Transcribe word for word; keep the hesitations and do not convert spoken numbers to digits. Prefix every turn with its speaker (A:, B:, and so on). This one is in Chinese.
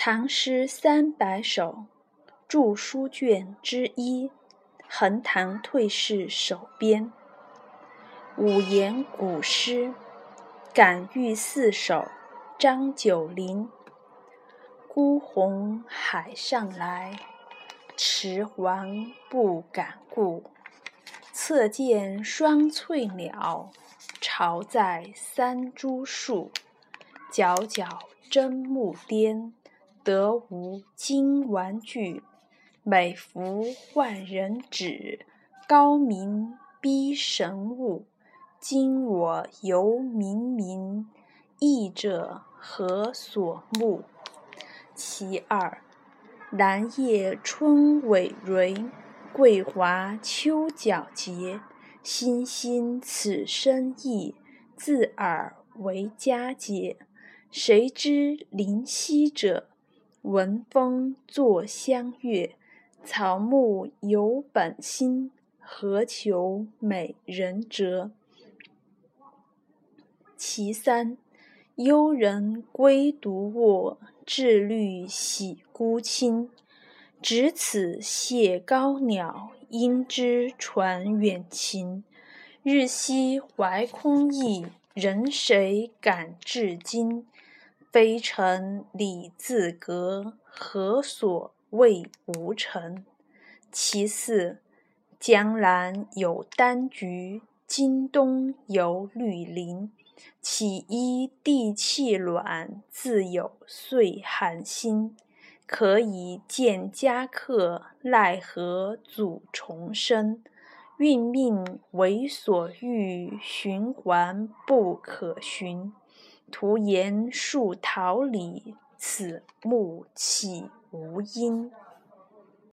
A: 唐诗三百首，著书卷之一，横塘退士手编。五言古诗，感遇四首，张九龄。孤鸿海上来，迟缓不敢顾。侧见双翠鸟，巢在三株树。皎皎真木颠，得无金玩具。美服万人指，高明逼神物。今我犹冥冥，译者何所目？其二，兰叶春葳蕤，桂华秋皎洁。欣欣此生意，自尔为佳节。谁知灵犀者，闻风作相悦。草木有本心，何求美人折？其三，幽人归独卧，至虑喜孤清。只此谢高鸟，应知传远情。日夕怀空意，人谁感至今？非诚礼自隔，何所谓无成？其四，江南有丹菊，今冬有绿林。岂依地气暖，自有岁寒心。可以见佳客，奈何阻重生？运命为所欲，循环不可寻。徒言树桃李，此木岂无因？